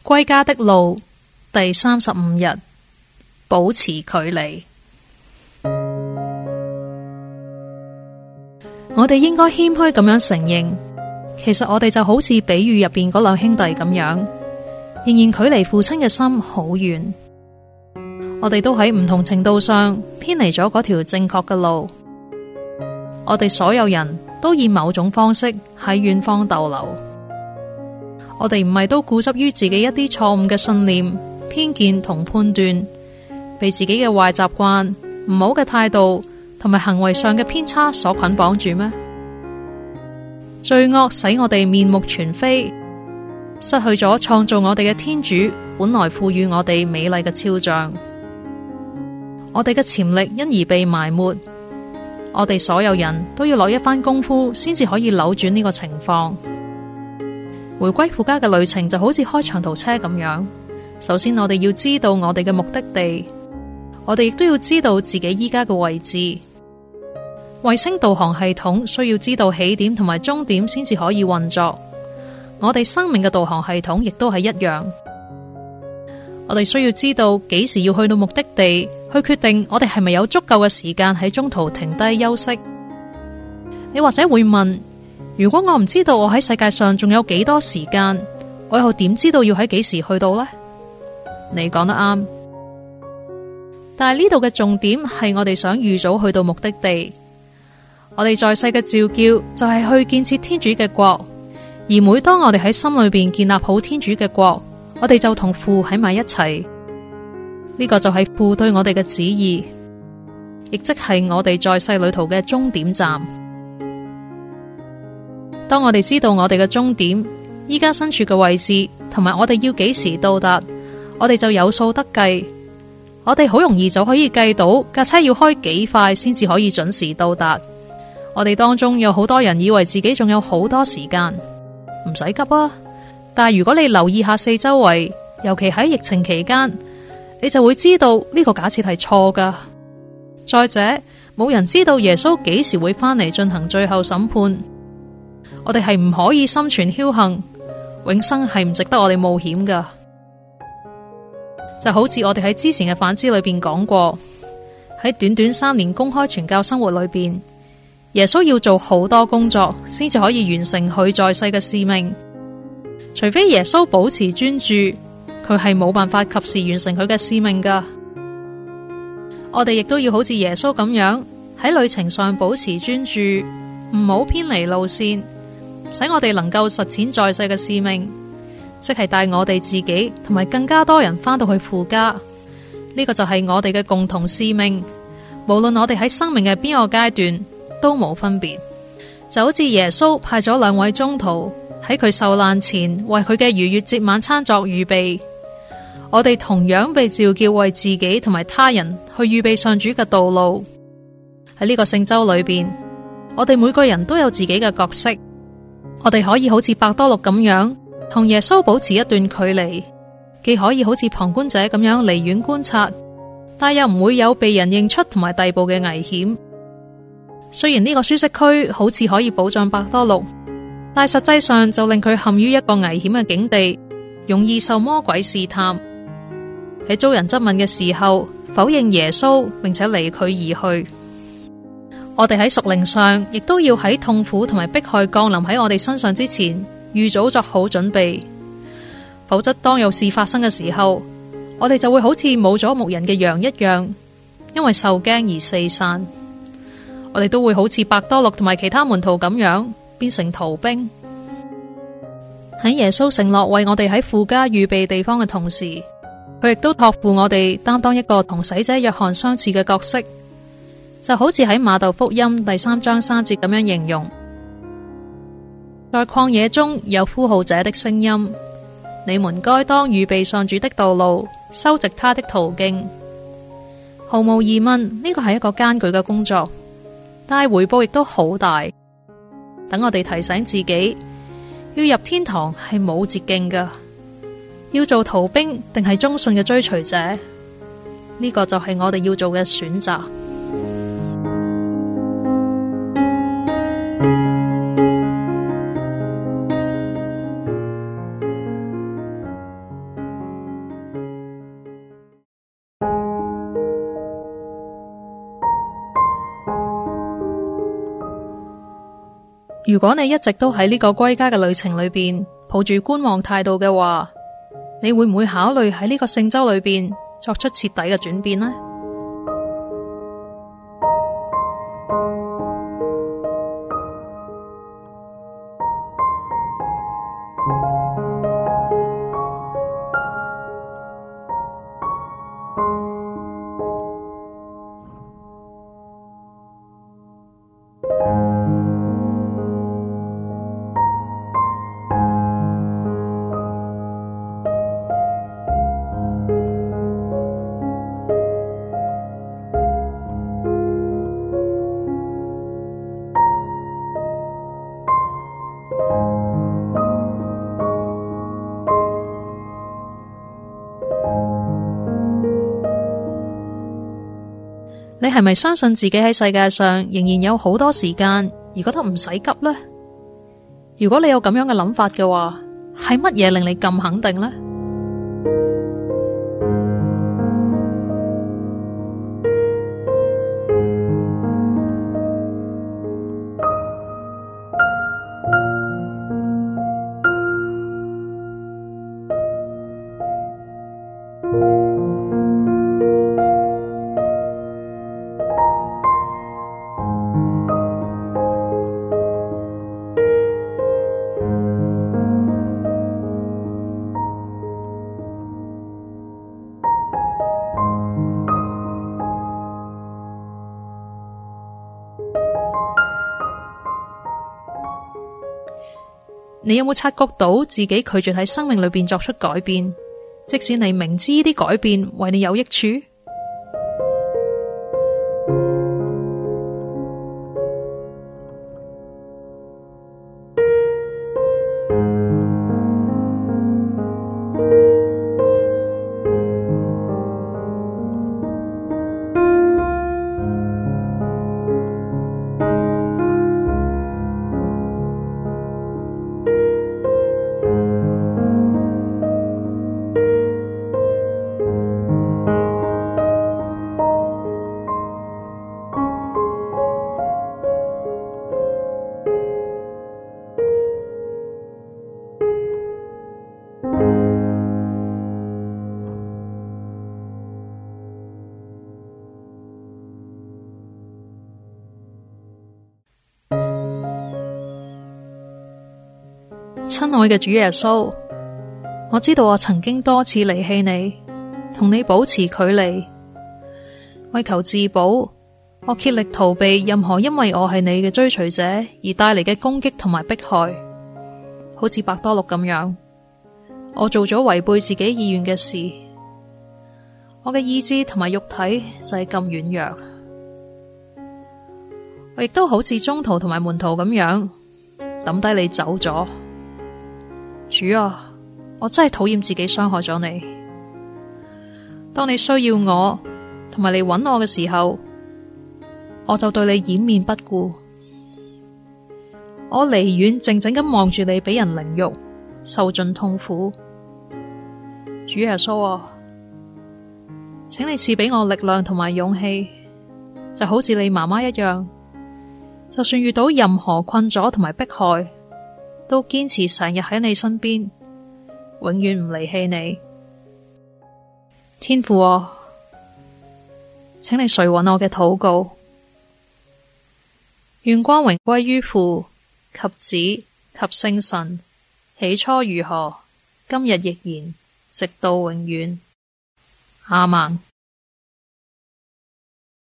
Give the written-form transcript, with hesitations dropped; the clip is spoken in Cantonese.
歸家的路第35日，保持距離。我哋應該謙虛咁樣承認，其實我哋就好似比喻入邊嗰兩兄弟咁樣，仍然距離父親嘅心好遠。我哋都喺唔同程度上偏離咗嗰條正確嘅路。我哋所有人都以某種方式喺遠方逗留。我哋唔係都固執於自己一啲錯誤嘅信念、偏見同判斷，被自己嘅壞習慣、唔好嘅態度同埋行為上嘅偏差所捆綁住咩？罪惡使我哋面目全非，失去咗創造我哋嘅天主本來賦予我哋美麗嘅肖像。我哋嘅潛力因而被埋沒。我哋所有人都要落一番功夫，先至可以扭轉呢個情況。回歸父家嘅旅程就好似開長途車咁樣。首先我哋要知道我哋嘅目的地，我哋亦都要知道自己依家嘅位置。衛星導航系統需要知道起點同埋終點先至可以運作。我哋生命嘅導航系統亦都係一樣。我哋需要知道幾時要去到目的地，去決定我哋係咪有足夠嘅時間喺中途停低休息。你或者會問，如果我唔知道我喺世界上仲有幾多時間，我又點知道要喺幾時去到呢？你講得啱，但係呢度嘅重點係我哋想預早去到目的地。我哋在世嘅召叫就係去建設天主嘅國，而每當我哋喺心裏邊建立好天主嘅國，我哋就同父喺埋一齊。呢個就係父對我哋嘅旨意，亦即係我哋在世旅途嘅終點站。當我哋知道我哋嘅終點，依家身處嘅位置，同埋我哋要幾時到達，我哋就有數得計。我哋好容易就可以計到架車要開幾快先至可以準時到達。我哋當中有好多人以為自己仲有好多時間，唔使急啊！但係如果你留意下四周圍，尤其喺疫情期間，你就會知道呢個假設係錯噶。再者，冇人知道耶穌幾時會返嚟進行最後審判。我哋係唔可以心存僥倖，永生係唔值得我哋冒險噶。就好似我哋喺之前嘅反思裏邊講過，喺短短3年公開傳教生活裏邊，耶穌要做好多工作，先至可以完成佢在世嘅使命。除非耶穌保持專注，佢係冇辦法及時完成佢嘅使命噶。我哋亦都要好似耶穌咁樣喺旅程上保持專注，唔好偏離路線，使我哋能夠實踐在世嘅使命，即係帶我哋自己同埋更加多人返到去父家。呢個就係我哋嘅共同使命，無論我哋喺生命嘅邊個階段都冇分別。就好似耶穌派咗2位宗徒喺佢受難前為佢嘅逾越節晚餐作預備，我哋同樣被召叫為自己同埋他人去預備上主嘅道路。喺呢個聖週裏邊，我哋每個人都有自己嘅角色。我哋可以好似伯多祿咁樣同耶穌保持一段距離，既可以好似旁觀者咁樣離遠觀察，但又唔會有被人認出同埋逮捕嘅危險。雖然呢個舒適區好似可以保障伯多祿，但實際上就令佢陷於一個危險嘅境地，容易受魔鬼試探。喺遭人質問嘅時候，否認耶穌，並且離佢而去。我哋喺屬靈上，亦都要喺痛苦同埋迫害降臨喺我哋身上之前，預早作好準備。否則，當有事發生嘅時候，我哋就會好似冇咗牧人嘅羊一樣，因為受驚而四散。我哋都會好似伯多祿同埋其他門徒咁樣，變成逃兵。喺耶穌承諾為我哋喺父家預備地方嘅同時，佢亦都託付我哋擔當一個同洗者若翰相似嘅角色。就好似喺馬竇福音第3章3節咁樣形容，在曠野中有呼號者的聲音，你們該當預備上主的道路，修直他的途徑。毫無疑問，呢個係一個艱巨嘅工作，但係回報亦都好大。等我哋提醒自己，要入天堂係冇捷徑㗎，要做逃兵定係忠信嘅追隨者，呢個就係我哋要做嘅選擇。 如果你一直都喺呢個歸家嘅旅程裏邊抱住觀望態度嘅話，你會唔會考慮喺呢個聖週裏邊作出徹底嘅轉變呢？你係咪相信自己喺世界上仍然有好多時間，而覺得唔使急呢？如果你有咁樣嘅諗法嘅話，係乜嘢令你咁肯定呢？你有冇察覺到自己拒絕喺生命裏邊作出改變，即使你明知呢啲改變為你有益處？親愛嘅主耶穌，我知道我曾經多次離棄你，同你保持距離。為求自保，我竭力逃避任何因為我係你嘅追隨者而帶嚟嘅攻擊同埋迫害，好似伯多祿咁樣。我做咗違背自己意願嘅事，我嘅意志同埋肉體就係咁軟弱。我亦都好似宗徒同埋門徒咁樣抌低你走咗。主啊，我真係討厭自己傷害咗你。當你需要我同埋嚟揾我嘅時候，我就對你掩面不顧。我離遠靜靜咁望住你俾人凌辱，受盡痛苦。主耶穌啊，請你賜俾我力量同埋勇氣，就好似你媽媽一樣，就算遇到任何困阻同埋迫害，都堅持成日喺你身邊，永遠唔離棄你。天父啊，請你垂允我嘅禱告，願光榮歸於父及子及聖神，起初如何，今日亦然，直到永遠。阿們。